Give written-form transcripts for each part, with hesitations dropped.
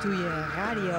Ratatouille Radio.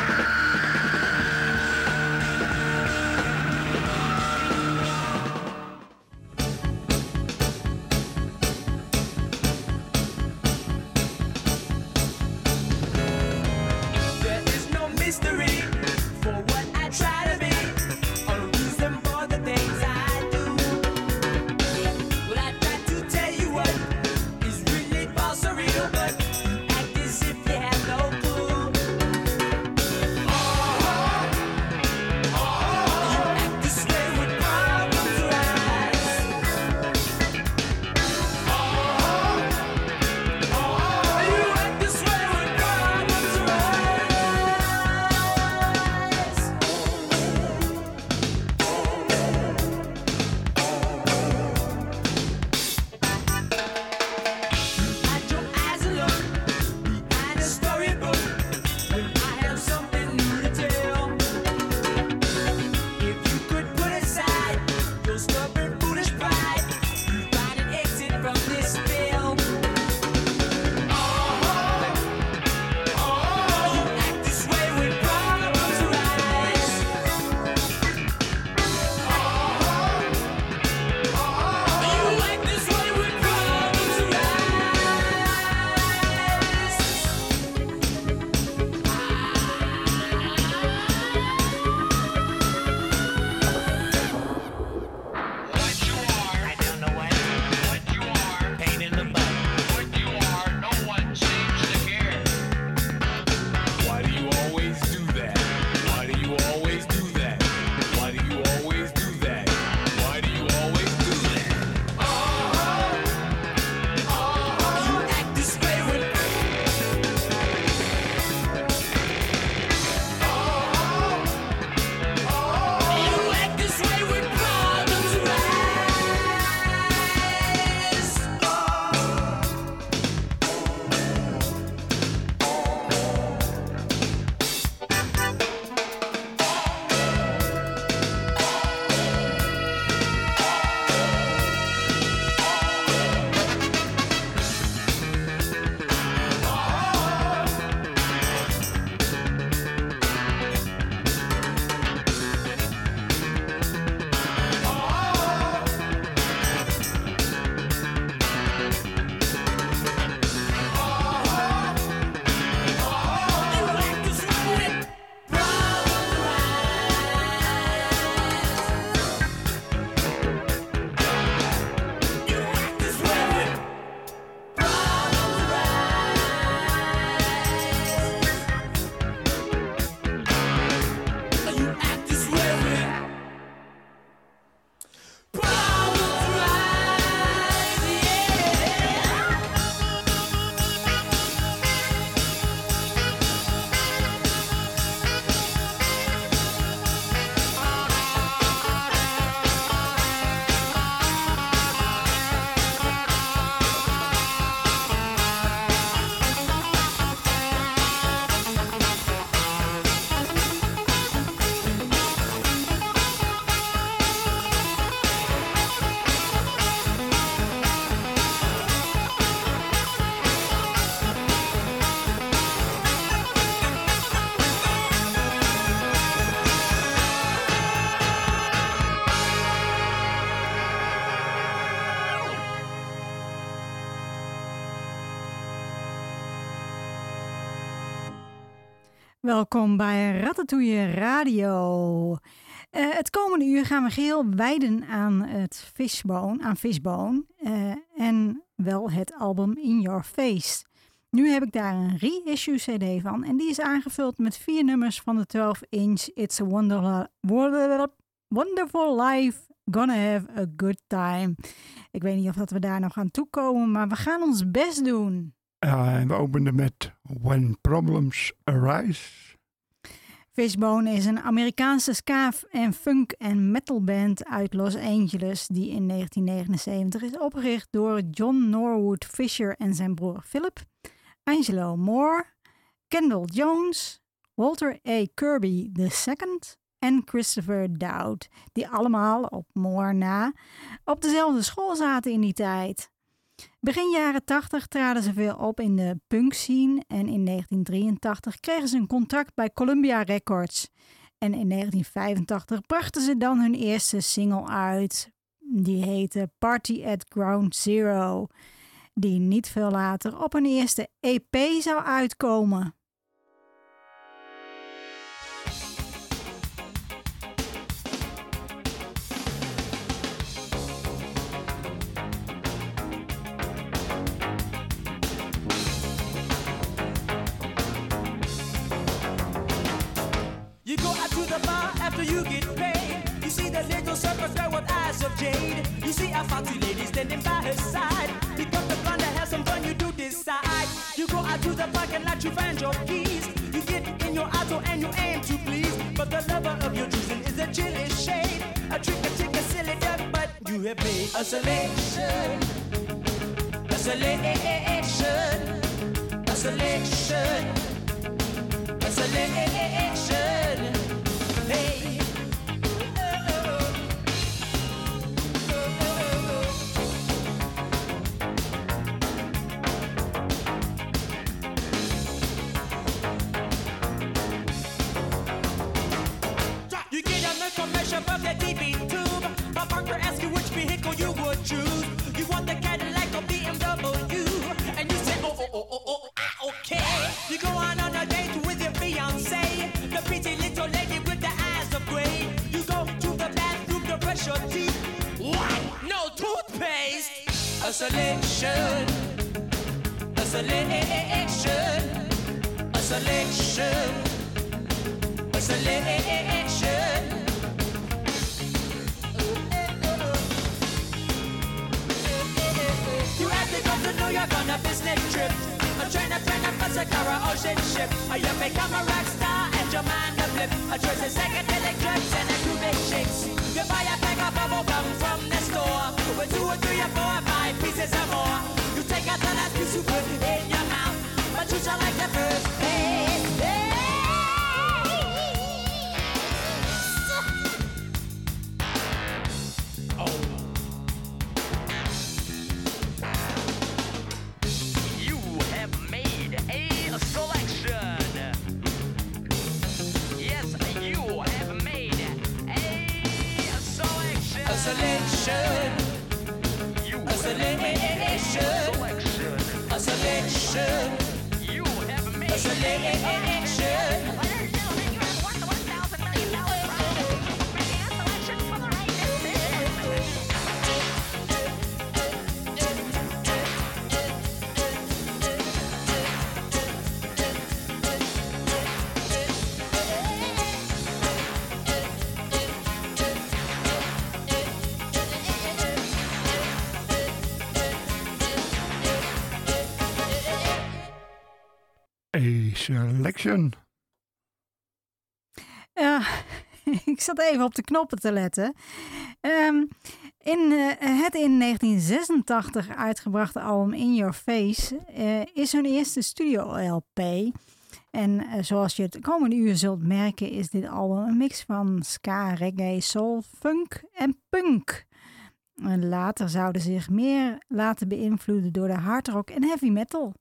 Welkom bij Ratatouille Radio. Het komende uur gaan we geheel wijden aan het Fishbone en wel het album In Your Face. Nu heb ik daar een reissue CD van en die is aangevuld met 4 nummers van de 12-inch It's a Wonderful Life, Gonna Have a Good Time. Ik weet niet of dat we daar nog aan toekomen, maar we gaan ons best doen. En we openen met When Problems Arise. Fishbone is een Amerikaanse ska- en funk- en metalband uit Los Angeles die in 1979 is opgericht door John Norwood Fisher en zijn broer Philip, Angelo Moore, Kendall Jones, Walter A. Kirby II en Christopher Dowd, die allemaal op Moore na op dezelfde school zaten in die tijd. Begin jaren 80 traden ze veel op in de punkscene en in 1983 kregen ze een contract bij Columbia Records. En in 1985 brachten ze dan hun eerste single uit. Die heette Party at Ground Zero, die niet veel later op hun eerste EP zou uitkomen. You go out to the bar after you get paid. You see the little circus girl with eyes of jade. You see a foxy lady standing by her side. Pick up the gun to have some fun, you do decide. You go out to the parking lot, you find your keys. You get in your auto and you aim to please. But the lover of your choosing is a chilly shade. A trick a silly duck, but you have made a selection. A selection. A selection. A selection. Hey. You get an information from the DB tube. My partner asks you which vehicle you would choose. You want the Cadillac or BMW, and you say, okay. You go on a date with your fiancé, the pretty little lady with the eyes of gray. You go to the bathroom to brush your teeth. What? No toothpaste. A selection. A selection. A selection. A selection. You have to go to New York on a business trip. A train, bus, a car, or ocean ship. You become a rock star and your mind a flip. A choice of psychedelic drugs and a few big chicks. You buy a bag of bubble gum from the store with 2 or 3 or 4 or 5 pieces or more. You take out the last piece you put in your mouth, but you shall like the first. Hey, hey. Selection. A selection. A selection. You have made a selection. Selection. Ik zat even op de knoppen te letten. Het in 1986 uitgebrachte album In Your Face is hun eerste studio-LP. En zoals je het komende uur zult merken is dit album een mix van ska, reggae, soul, funk en punk. En later zouden ze zich meer laten beïnvloeden door de hardrock en heavy metal.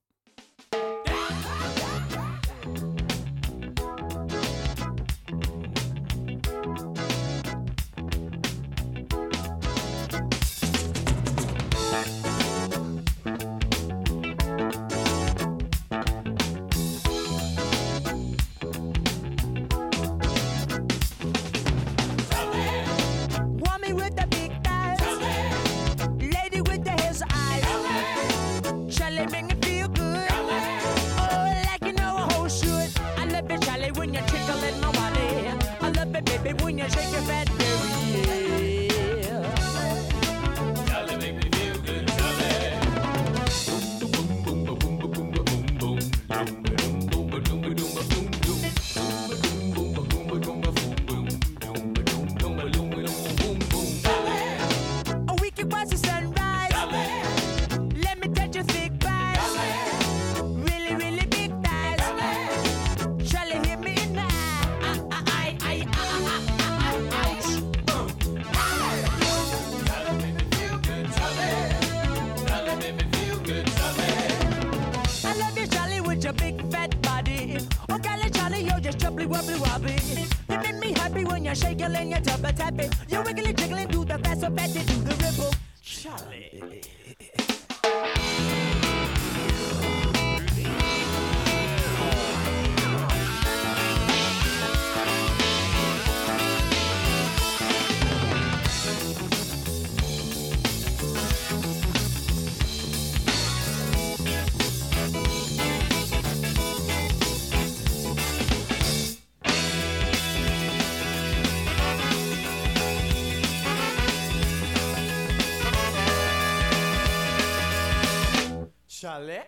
your big fat body. Oh, golly, Johnny, you're just jubbly wobbly wobbly. You make me happy when you're shaking and you're tubba tapping. You're wiggly jiggling, do the fast so fast, you do the ripple. Charlie. Charlie.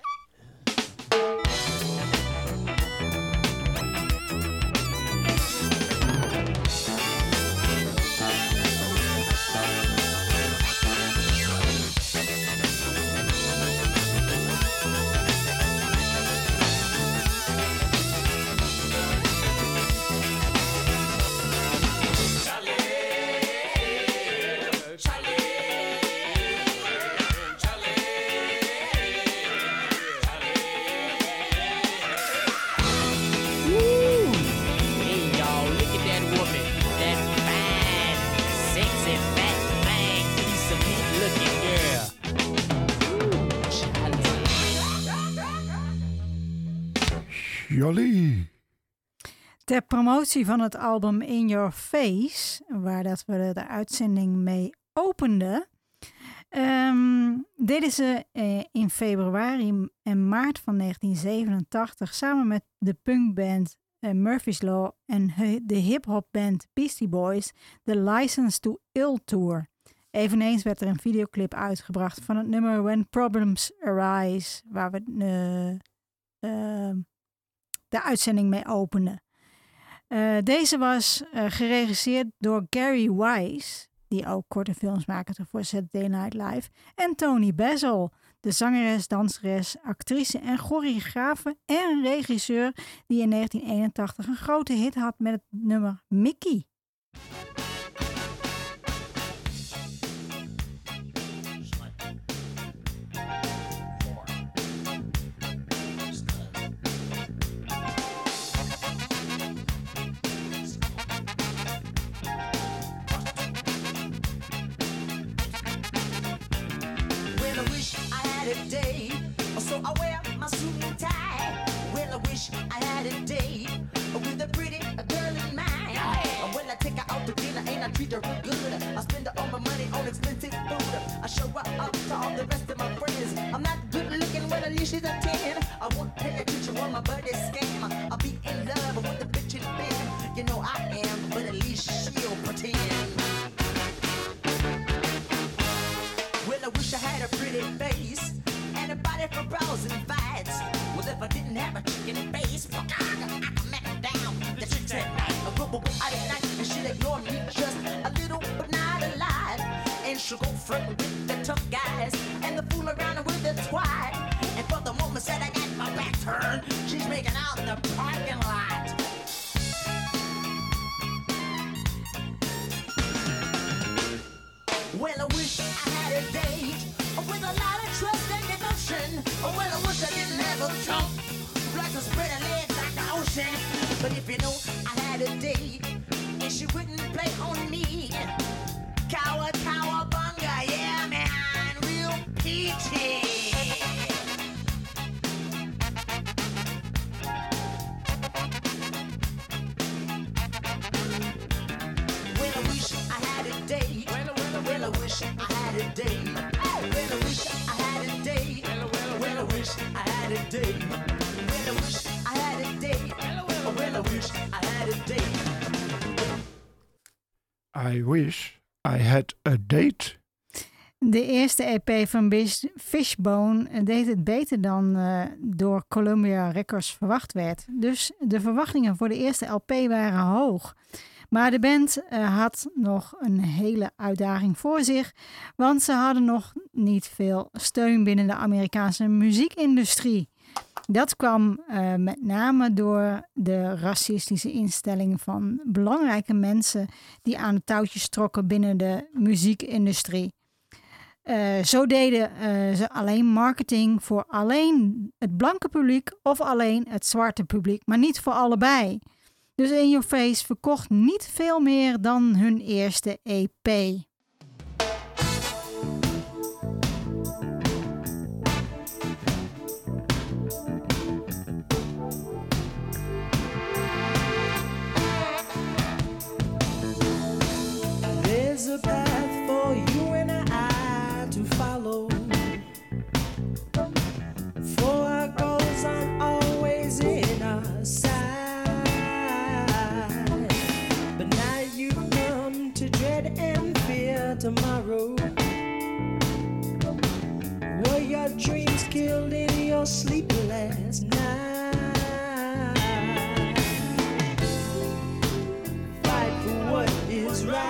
Jolly. Ter promotie van het album In Your Face, waar dat we de uitzending mee openden, deden ze in februari en maart van 1987 samen met de punkband Murphy's Law en de hip-hopband Beastie Boys de License to Ill Tour. Eveneens werd er een videoclip uitgebracht van het nummer When Problems Arise, waar we de uitzending mee openden. Deze was geregisseerd door Gary Wise, die ook korte films maakte voor Saturday Night Live, en Tony Basil, de zangeres, danseres, actrice en choreografe en regisseur die in 1981 een grote hit had met het nummer Mickey. Day, so I wear my suit and tie. Well, I wish I had a day with a pretty girl in mind. Well, I take her out to dinner and I treat her real good. I spend all my money on expensive food. I show her up to all the rest of my friends. I'm not good looking, well, at least she's a 10. I won't pay attention when my buddy's scam. I'll be in love with the bitch in bed. You know I am, but at least she'll pretend. Well, I wish I had a pretty face and a body for brawls and fights. Well, if I didn't have a chicken face, I could make her down. The chicks at night, a go out at night, and she'll ignore me just a little, but not a lot. And she'll go flirt with the tough guys and the fool around with the twat. And for the moment that I got my back turned, she's making out in the parking lot. Well, I wish I had a date with a lot of trust and devotion. Well, I wish I didn't have a trunk like a spread of legs like the ocean. But if you know I had a date and she wouldn't play on me, cowabunga, yeah man, real peachy. Well, I wish I had a date. Well, I wish I had a date. Well, I wish I had a date. Well, I wish I had a date. Well, I wish I had a date. Well, I wish I had a date. I wish I had a date. De eerste EP van Fishbone deed het beter dan door Columbia Records verwacht werd. Dus de verwachtingen voor de eerste LP waren hoog. Maar de band had nog een hele uitdaging voor zich, want ze hadden nog niet veel steun binnen de Amerikaanse muziekindustrie. Dat kwam met name door de racistische instelling van belangrijke mensen die aan de touwtjes trokken binnen de muziekindustrie. Zo deden ze alleen marketing voor alleen het blanke publiek of alleen het zwarte publiek, maar niet voor allebei. Dus In Your Face verkocht niet veel meer dan hun eerste EP. There's a path for you and I to follow. For our goals aren't always in our sight. But now you come to dread and fear tomorrow. Were your dreams killed in your sleep last night? Fight for what is right.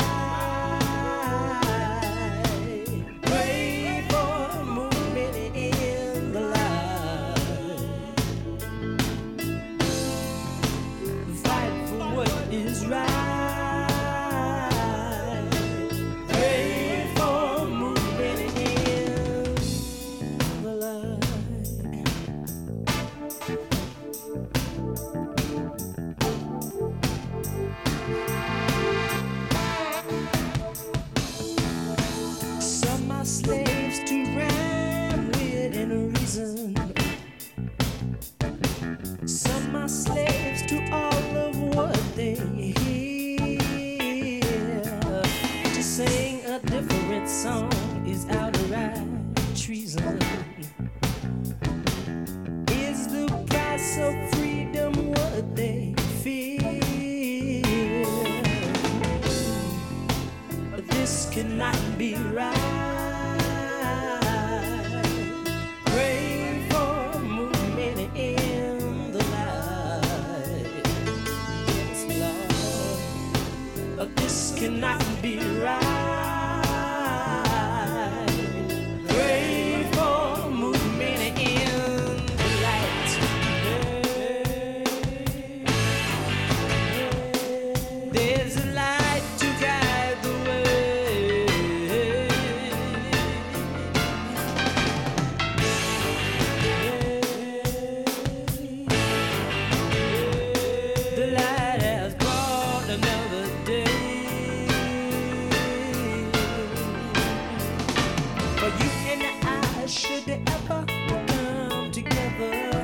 Slaves to rhyme, wit and reason. Some are slaves to all of what they hear. To sing a different song is outright treason. Is the price of freedom what they fear? But this cannot be right. Cannot be right. Pray for movement in the light. There's a light to guide the way. The light has brought another day. Should they ever come together,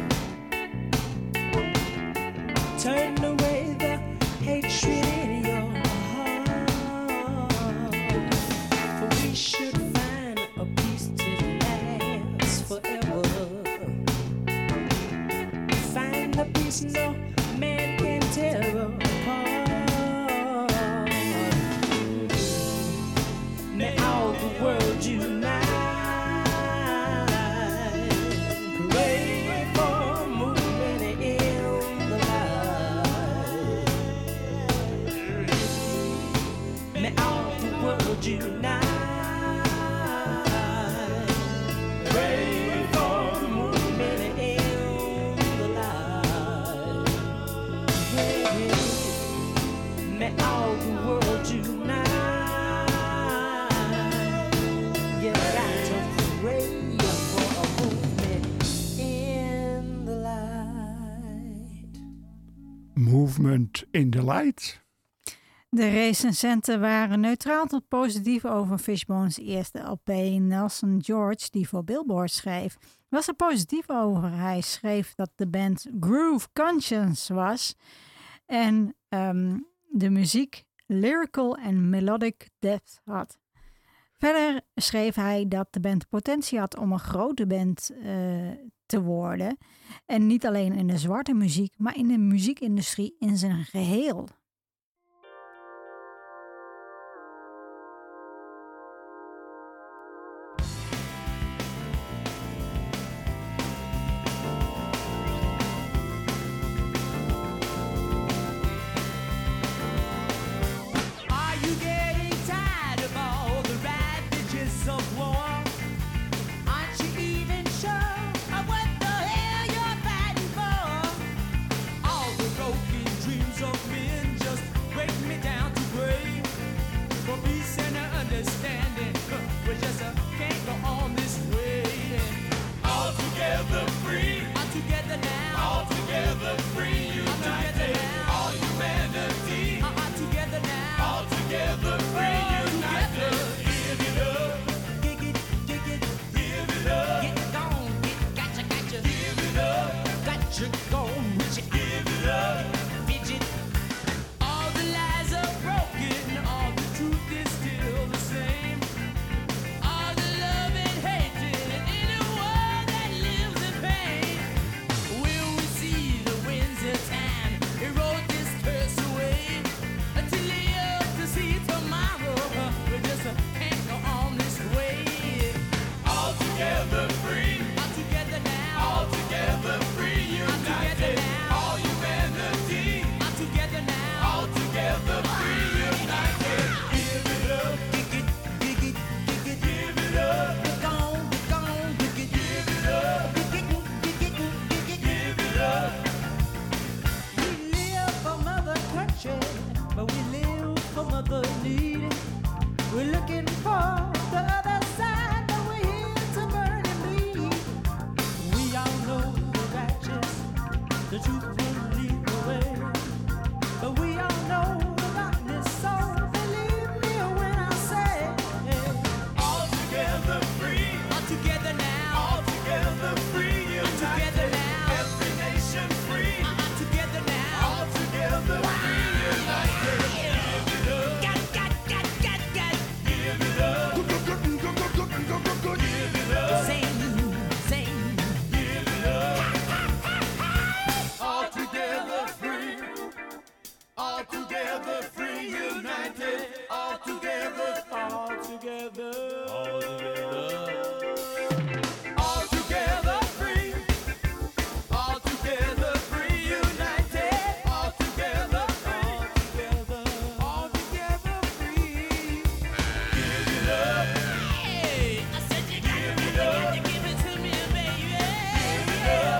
turn away the hatred in your heart. For we should find a peace to last forever. Find the peace no man can tear apart. May all the world unite. Unite. Pray for movement in the light. May all the world unite. You got to pray for a movement in the light. Movement in the light. De recensenten waren neutraal tot positief over Fishbone's eerste LP. Nelson George, die voor Billboard schreef, was er positief over. Hij schreef dat de band Groove Conscience was en de muziek lyrical en melodic depth had. Verder schreef hij dat de band potentie had om een grote band te worden. En niet alleen in de zwarte muziek, maar in de muziekindustrie in zijn geheel. Of men the truth will lead the way. But we all know the darkness, so believe me when I say, all together free, all together now, all together free, together now, every nation free, together now, all together free, united. Give it up, got, give it up, give it up, sing, give it up, all together free, all together free, united, all together, all together, all together. All together free, all together free, united, all together, all together free. Give it up. Hey, I said you gotta give it to me, baby. Give it up.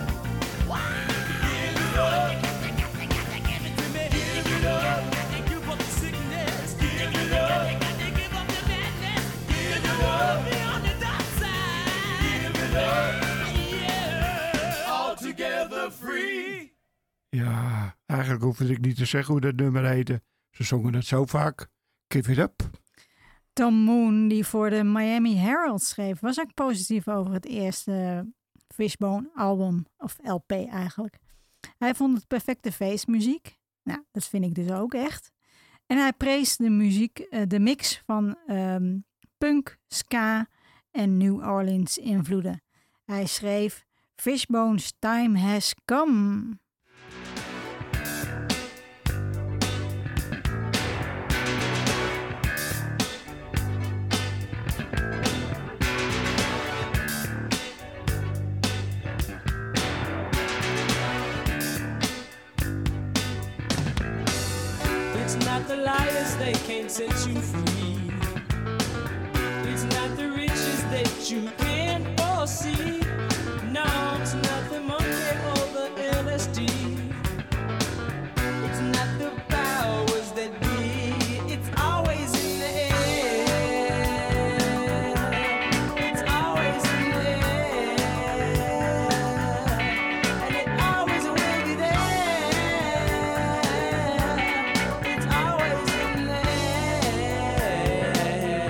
Give it up. Give it to me. Give it up. And give up the sickness. Give it up. Give up the madness. Give it up. Be on the dark side. Give it up. Yeah. All together free. Ja, eigenlijk hoefde ik niet te zeggen hoe dat nummer heette. Ze zongen het zo vaak. Give it up. Tom Moon, die voor de Miami Herald schreef, was ook positief over het eerste Fishbone album, of LP eigenlijk. Hij vond het perfecte feestmuziek. Nou, dat vind ik dus ook echt. En hij prees de muziek, de mix van punk, ska en New Orleans invloeden. Hij schreef Fishbone's Time Has Come. It's not the liars, they can't set you free. It's not the riches that you can't foresee. No, it's not the money or the LSD. It's not the powers that be. It's always in the air. It's always in the air. And it always will be there. It's always in the air.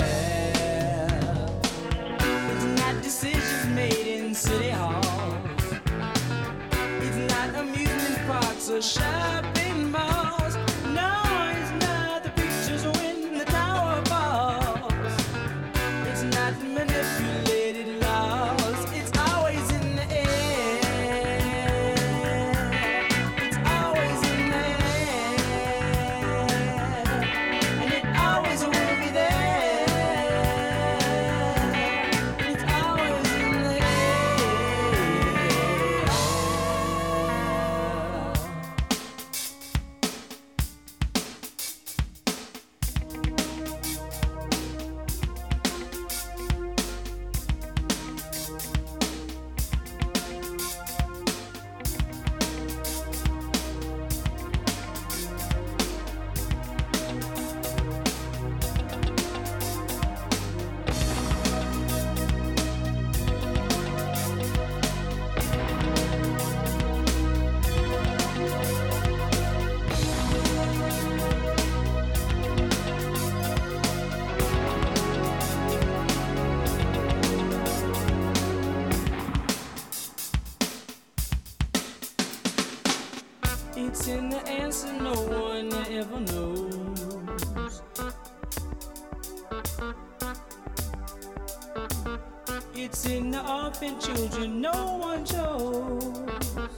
It's not decisions made in city halls. It's not amusement parks or shopping malls. No, it's not the pictures when the tower falls. It's not manipulated laws. It's always in the air. It's always in the air. And it always will be there. It's always in the air. It's in the answer no one ever knows. It's in the orphan children no one chose.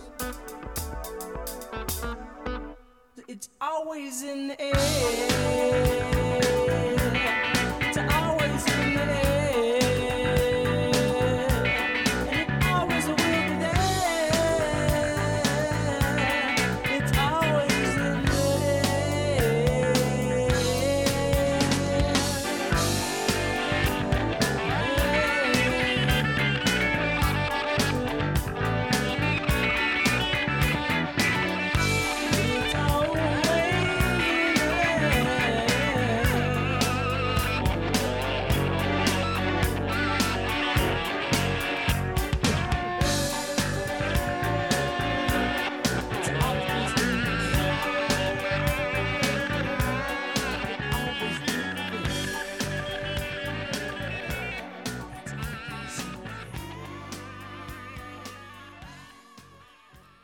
It's always in the air. It's always in the air. And it always will be there. It's always in the It's always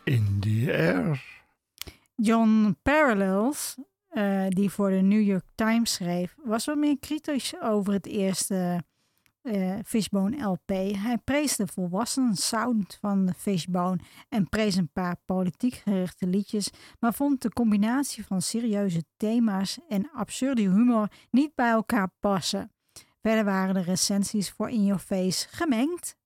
In the air. John Parallels, die voor de New York Times schreef, was wat meer kritisch over het eerste Fishbone LP. Hij prees de volwassen sound van de Fishbone en prees een paar politiek gerichte liedjes, maar vond de combinatie van serieuze thema's en absurde humor niet bij elkaar passen. Verder waren de recensies voor In Your Face gemengd.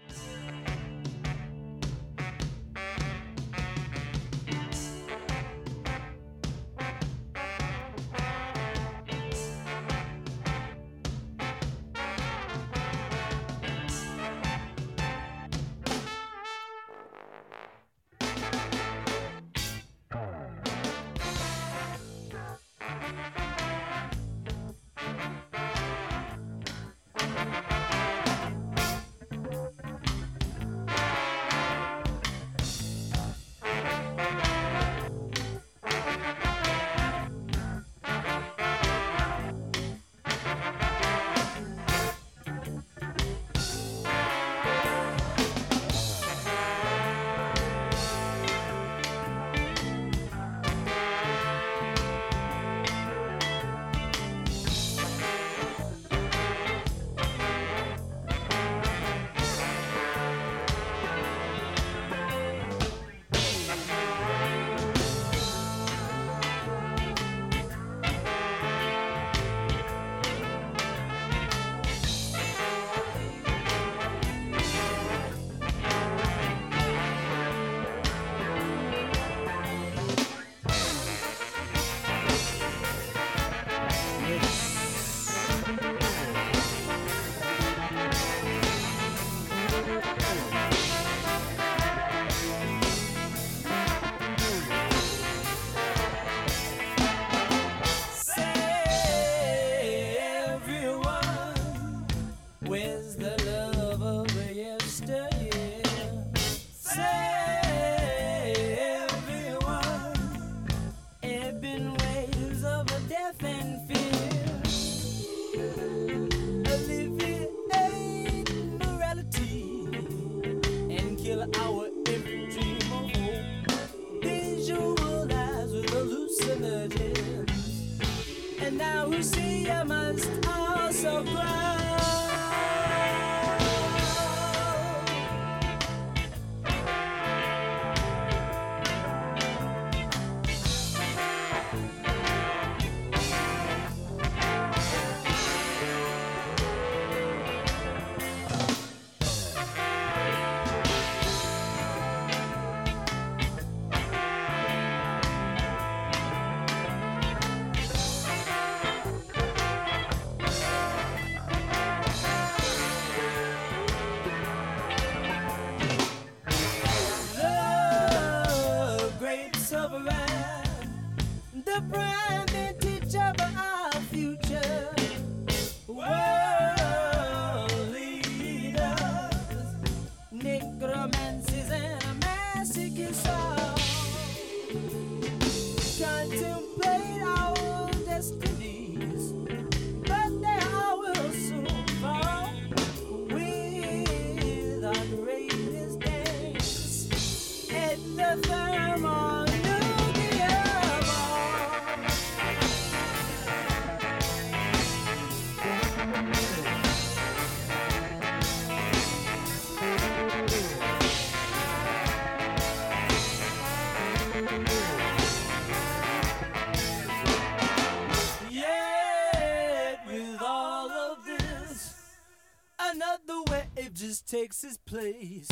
Takes its place.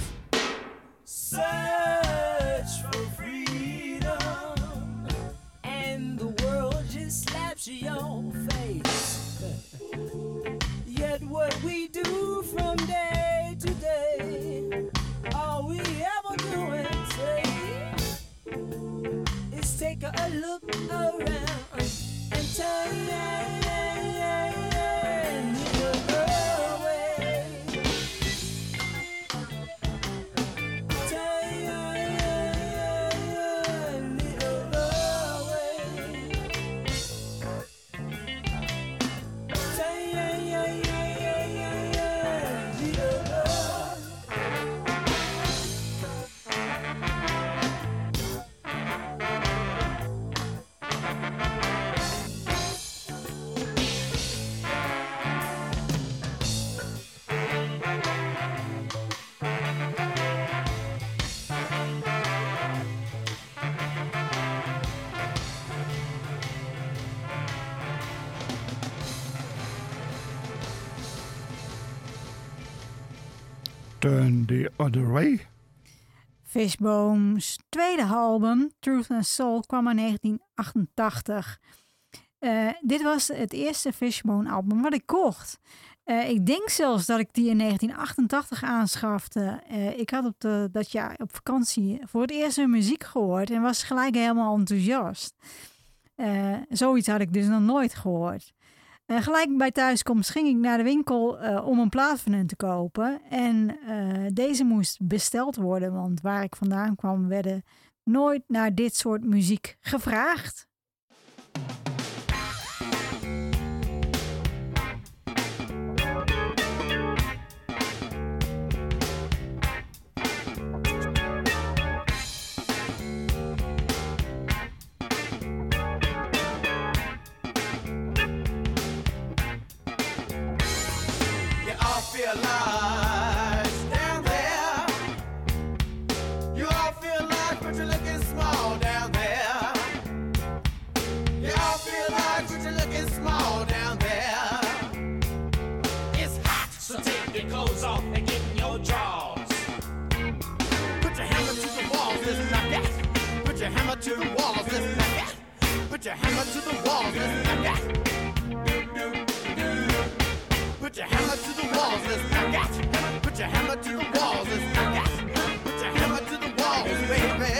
Search for freedom, and the world just slaps you your face. Yet what we do from day to day, all we ever do and say is take a look around and turn. Turn the Other Way. Fishbone's tweede album, Truth and Soul, kwam in 1988. Dit was het eerste Fishbone-album wat ik kocht. Ik denk zelfs dat ik die in 1988 aanschafte. Ik had dat jaar op vakantie voor het eerst weer muziek gehoord en was gelijk helemaal enthousiast. Zoiets had ik dus nog nooit gehoord. Gelijk bij thuiskomst ging ik naar de winkel om een plaat van hun te kopen. En deze moest besteld worden, want waar ik vandaan kwam werden nooit naar dit soort muziek gevraagd. To the walls, let's knock it. Put your hammer to the walls, let's knock it. Put your hammer to the walls, let's knock it. Put your hammer to the walls, let's knock it. Put your hammer to the walls, baby.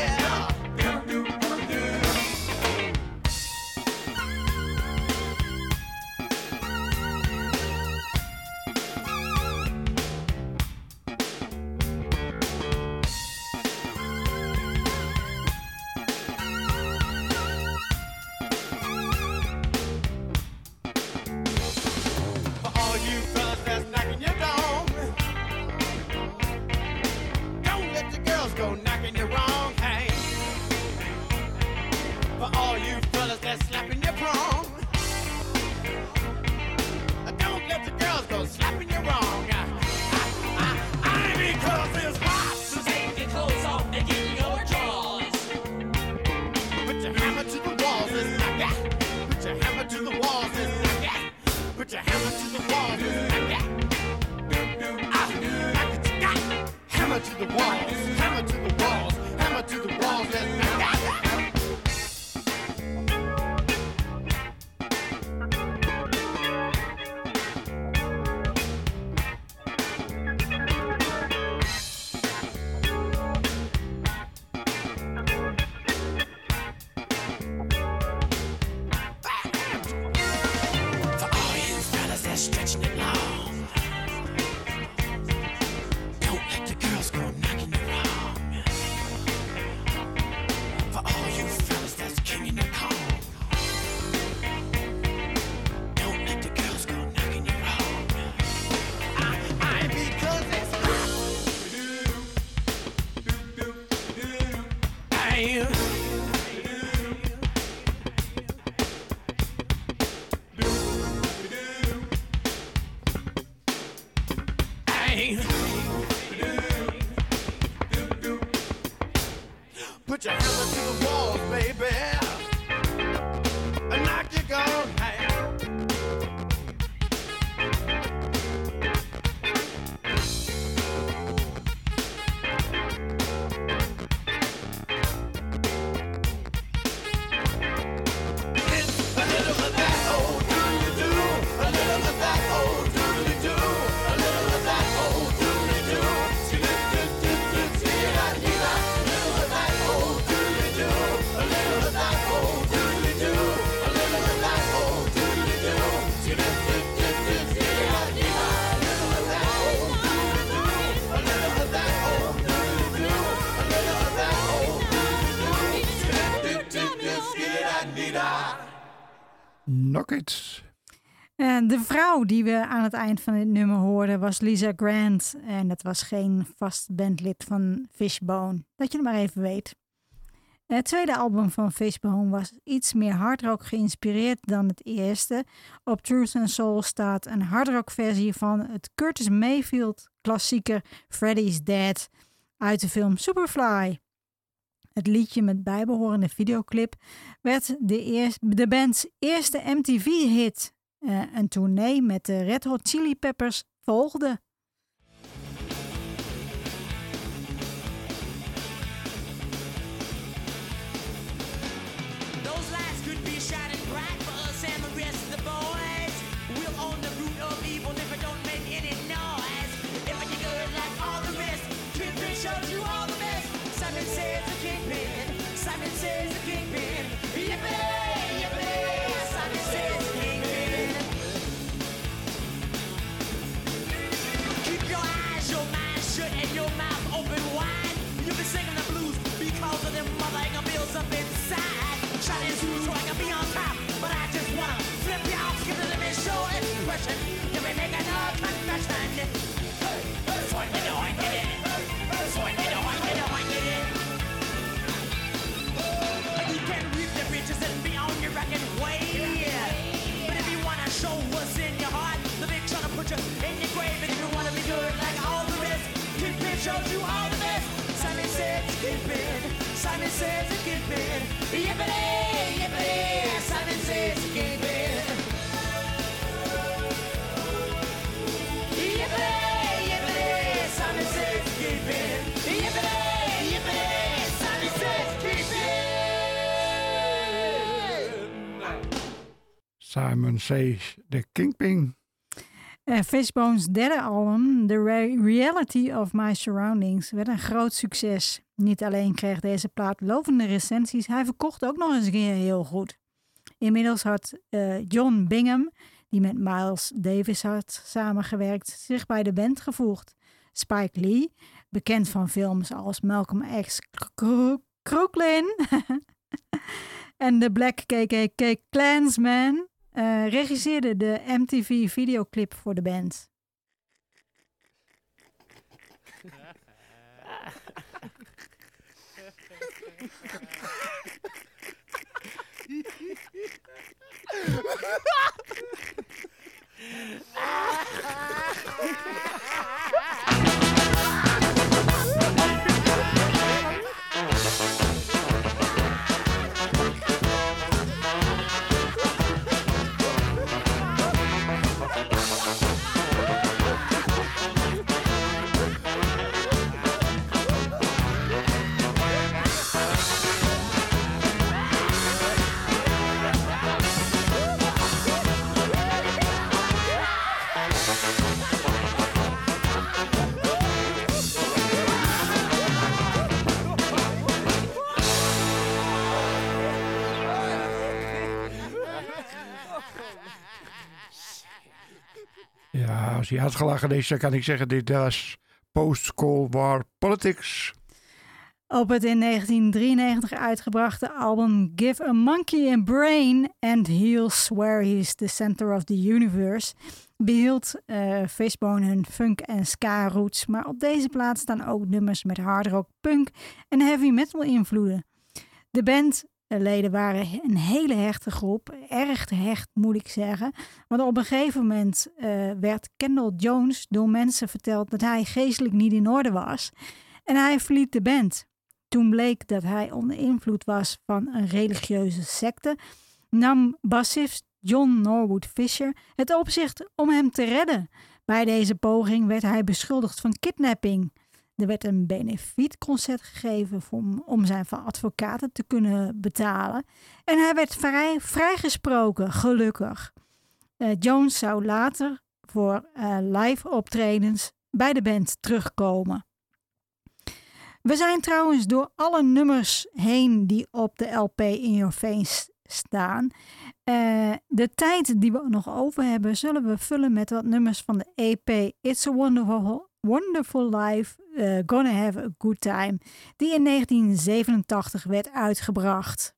Put your hammer to the walls, baby. And knock your gun hang. It's a little of that old doodly-doo, a little of that old doodly-doo, a little of that old doodly-doo. Knock it. De vrouw die we aan het eind van dit nummer hoorden was Lisa Grant. En dat was geen vast bandlid van Fishbone. Dat je het maar even weet. Het tweede album van Fishbone was iets meer hardrock geïnspireerd dan het eerste. Op Truth and Soul staat een hardrock versie van het Curtis Mayfield klassieker Freddy's Dead uit de film Superfly. Het liedje met bijbehorende videoclip werd de band's eerste MTV-hit. Een tournee met de Red Hot Chili Peppers volgde. them mother bills up inside. Shining shoes so I can be on top, but I just wanna flip you off, give it a show expression. Let me make another confession. Swing it, oink it, swing it, oink it. You can reap the riches and be on your record way. But if you wanna show what's in your heart, the big trying to put you in your grave. And if you wanna be good like all the rest, Kidman shows you all the best. Simon says Kidman, Simon says Kidman. Yippity, yippity, Simon says Kidman. Yippity, yippity, Simon says Kidman. Yippity, yippity, Simon says Kidman. Simon Says The Kingpin. Fishbone's derde album, The Reality of My Surroundings, werd een groot succes. Niet alleen kreeg deze plaat lovende recensies, hij verkocht ook nog eens een keer heel goed. Inmiddels had John Bingham, die met Miles Davis had samengewerkt, zich bij de band gevoegd. Spike Lee, bekend van films als Malcolm X Crooklyn en de Black KKK Klansman, regisseerde de MTV videoclip voor de band. Ja, als hij uitgelachen is, dan kan ik zeggen, dit was post-Cold War politics. Op het in 1993 uitgebrachte album Give a Monkey a Brain and He'll Swear He's the Center of the Universe behield Fishbone hun funk- en ska-roots, maar op deze plaat staan ook nummers met hardrock, punk en heavy metal invloeden. De bandleden waren een hele hechte groep, erg hecht moet ik zeggen, want op een gegeven moment werd Kendall Jones door mensen verteld dat hij geestelijk niet in orde was en hij verliet de band. Toen bleek dat hij onder invloed was van een religieuze secte, nam bassist John Norwood Fisher het op zich om hem te redden. Bij deze poging werd hij beschuldigd van kidnapping. Er werd een benefietconcert gegeven om zijn advocaten te kunnen betalen. En hij werd vrijgesproken, gelukkig. Jones zou later voor live optredens bij de band terugkomen. We zijn trouwens door alle nummers heen die op de LP In Your Face staan. De tijd die we nog over hebben zullen we vullen met wat nummers van de EP It's a Wonderful Life, Gonna Have a Good Time, die in 1987 werd uitgebracht.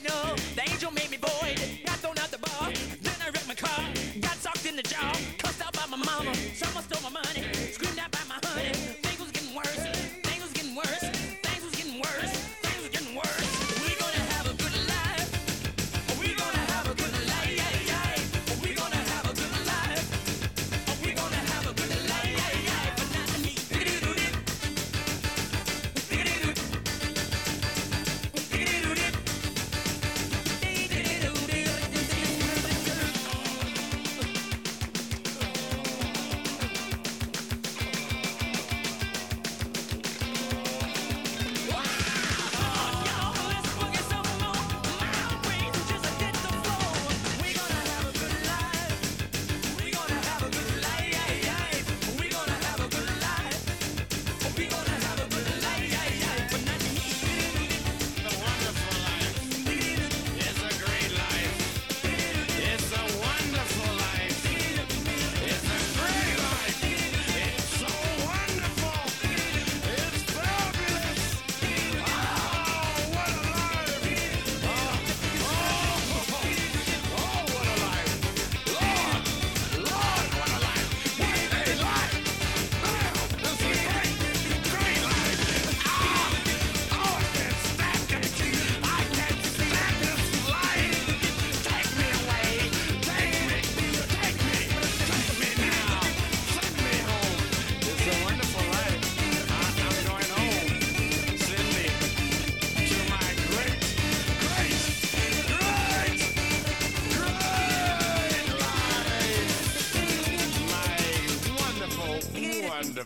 In the job, cussed out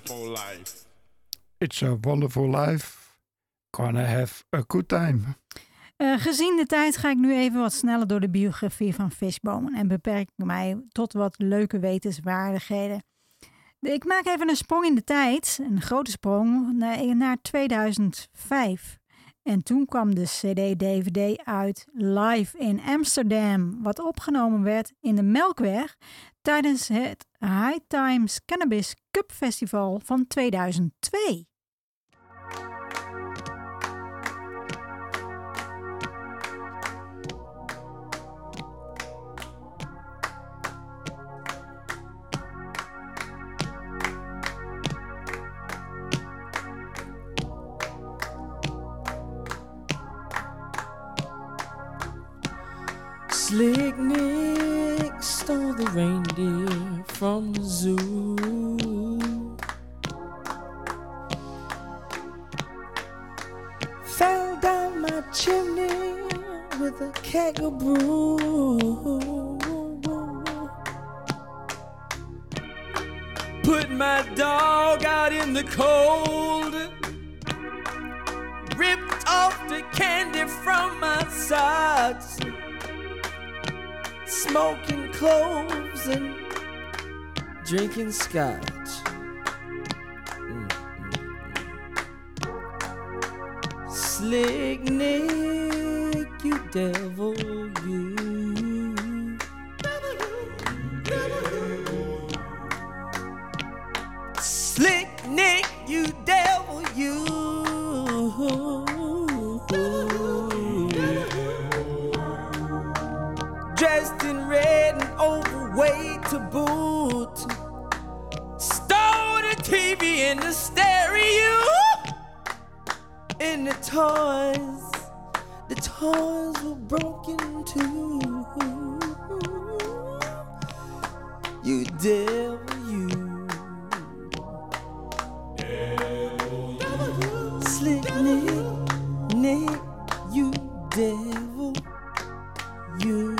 wonderful life. It's a wonderful life. Gonna have a good time. Gezien de tijd ga ik nu even wat sneller door de biografie van Fishbone en beperk mij tot wat leuke wetenswaardigheden. Ik maak even een sprong in de tijd, een grote sprong, naar 2005. En toen kwam de CD-DVD uit Live in Amsterdam, wat opgenomen werd in de Melkweg tijdens het High Times Cannabis Cup Festival van 2002. Slick Nick stole the reindeer from the zoo. Fell down my chimney with a keg of brew. Put my dog out in the cold. Ripped off the candy from my socks. Smoking cloves and drinking scotch. Slick Nick, you devil, you. Slick Nick, you devil, you. Dressed in red and overweight to boot. Stole the TV and the stereo. And the toys were broken too. You devil, you. Slick Nick, you devil, you.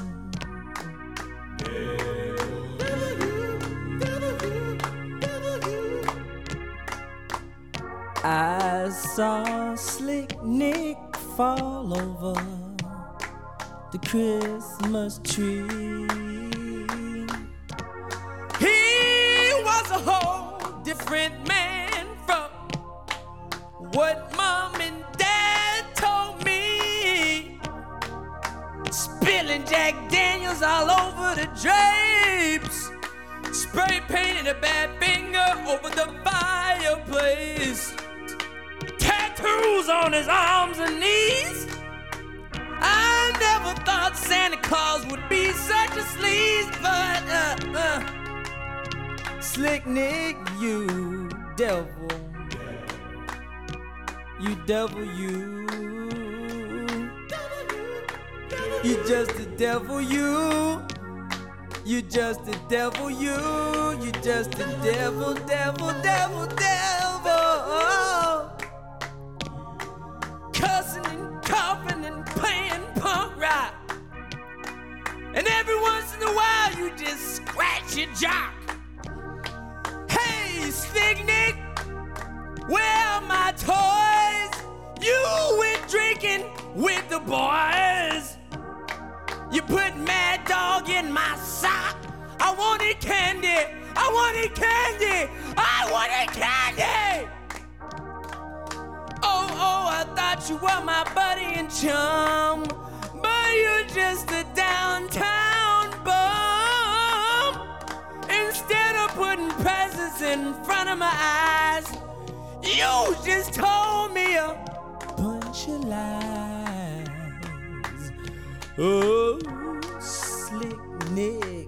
I saw Slick Nick fall over the Christmas tree. He was a whole different man from what Mom and Dad told me. Spilling Jack Daniels all over the drapes. Spray painting a bad finger over the fireplace. Tattoos on his arms and knees. I never thought Santa Claus would be such a sleaze, but Slick Nick, you devil. You devil, you. You just a devil, you. You just a devil, you. You just a devil, devil, devil, devil. Cussing and coughing and playing punk rock. And every once in a while you just scratch your jock. Hey, Slick Nick, where are my toys? You went drinking with the boys. You put Mad Dog in my sock. I wanted candy. I wanted candy. I wanted candy. Oh, I thought you were my buddy and chum, but you're just a downtown bum. Instead of putting presents in front of my eyes, you just told me a bunch of lies. Oh, Slick Nick.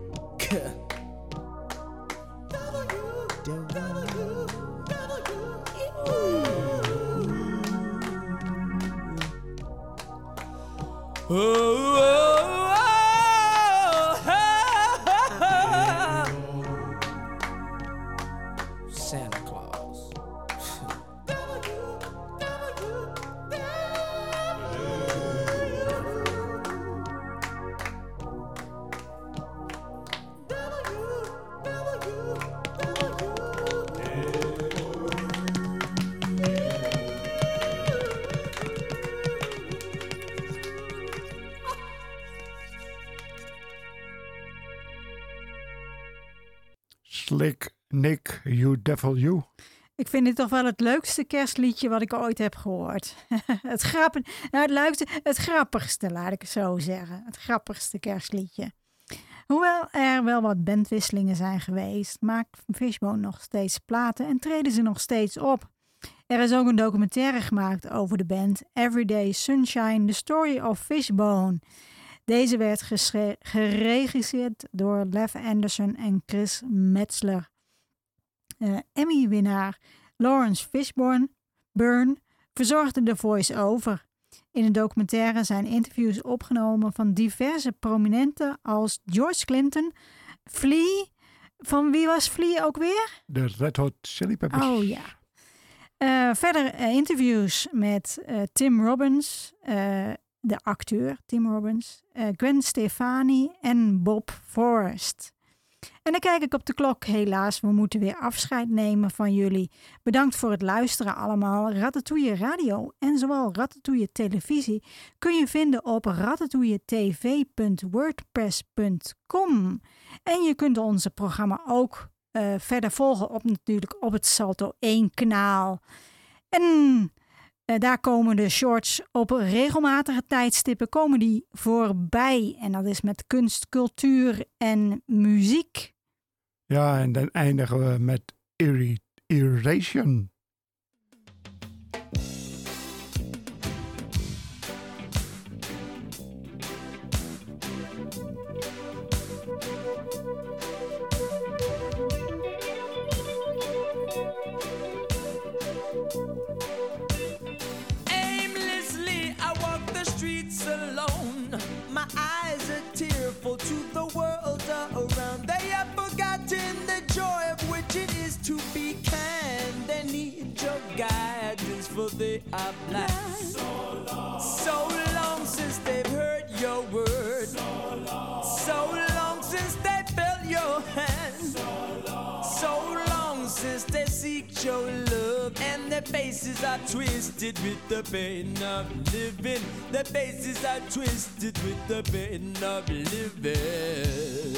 Santa Claus. Slick Nick, You Devil You. Ik vind dit toch wel het leukste kerstliedje wat ik ooit heb gehoord. Het grappigste, laat ik het zo zeggen. Het grappigste kerstliedje. Hoewel er wel wat bandwisselingen zijn geweest, maakt Fishbone nog steeds platen en treden ze nog steeds op. Er is ook een documentaire gemaakt over de band, Everyday Sunshine, The Story of Fishbone. Deze werd geregisseerd door Lev Anderson en Chris Metzler. Emmy-winnaar Lawrence Fishburne verzorgde de voice-over. In de documentaire zijn interviews opgenomen van diverse prominenten als George Clinton, Flea. Van wie was Flea ook weer? De Red Hot Chili Peppers. Oh ja. Verder interviews met Tim Robbins, de acteur Tim Robbins, Gwen Stefani en Bob Forrest. En dan kijk ik op de klok. Helaas, we moeten weer afscheid nemen van jullie. Bedankt voor het luisteren allemaal. Ratatouille Radio en zowel Ratatouille Televisie kun je vinden op ratatouilletv.wordpress.com. En je kunt onze programma ook verder volgen natuurlijk op het Salto 1 kanaal. En daar komen de shorts op regelmatige tijdstippen komen die voorbij. En dat is met kunst, cultuur en muziek. Ja, en dan eindigen we met Irration. My eyes are tearful to the world around. They have forgotten the joy of which it is to be kind. They need your guidance, for they are blind. So long since they've heard your word. So long since they felt your hand. So long since they seek your love. And their faces are twisted with the pain of living. Their faces are twisted with the pain of living.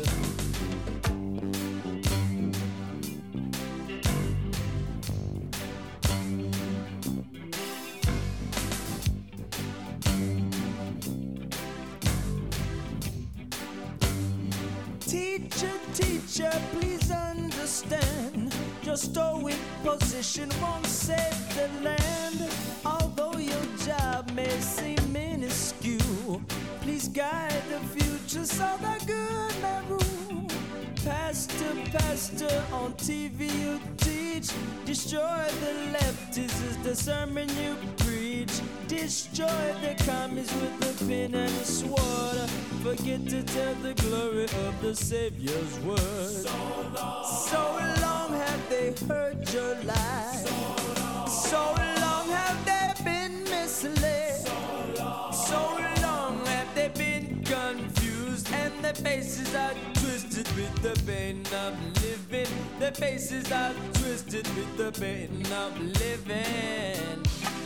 Teacher, teacher, please understand. Your stoic position won't save the land. Although your job may seem minuscule, please guide the future so the good may rule. Pastor, pastor, on TV you teach. Destroy the leftists is the sermon you preach. Destroy the commies with the pen and the sword. Forget to tell the glory of the Savior's word. So long have they heard your lies. So long have they been misled. So long have they been confused. And their faces are twisted with the pain of living. Their faces are twisted with the pain of living.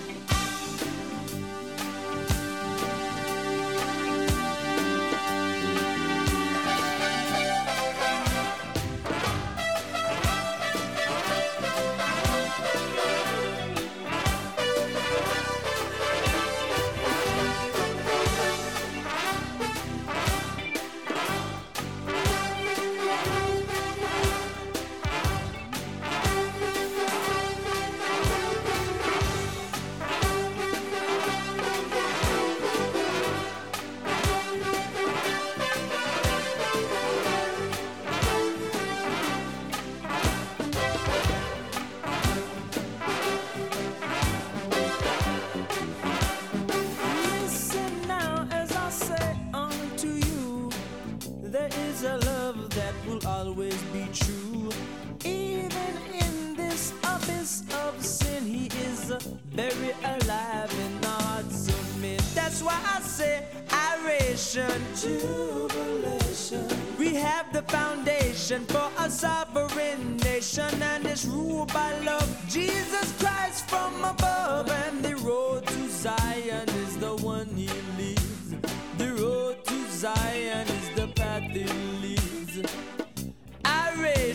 Always be true. Even in this abyss of sin, he is very alive in the hearts of men. That's why I say adoration, jubilation. We have the foundation for a sovereign nation, and it's ruled by love. Jesus Christ from above, and the road to Zion is the one he leads. The road to Zion is the path he leads.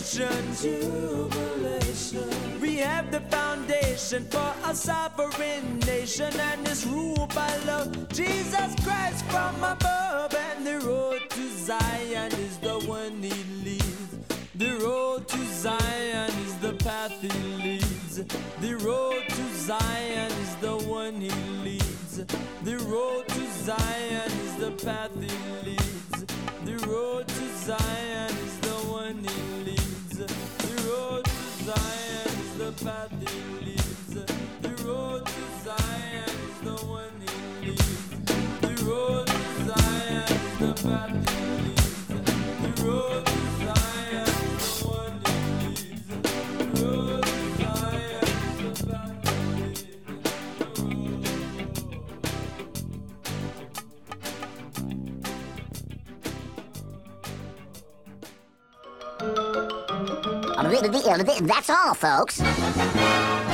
jubilation. We have the foundation for a sovereign nation, and it's ruled by love. Jesus Christ from above, and the road to Zion is the one he leads. The road to Zion is the path he leads. The road to Zion is the one he leads. The road to Zion is the path he leads. The road to Zion is the one he leads. The road to Zion is the path he leads. The road to Zion is the one he leads. The road to Zion is the path he leads. The road to Zion is the one he leads. The road to Zion is the path he leads. That's all, folks.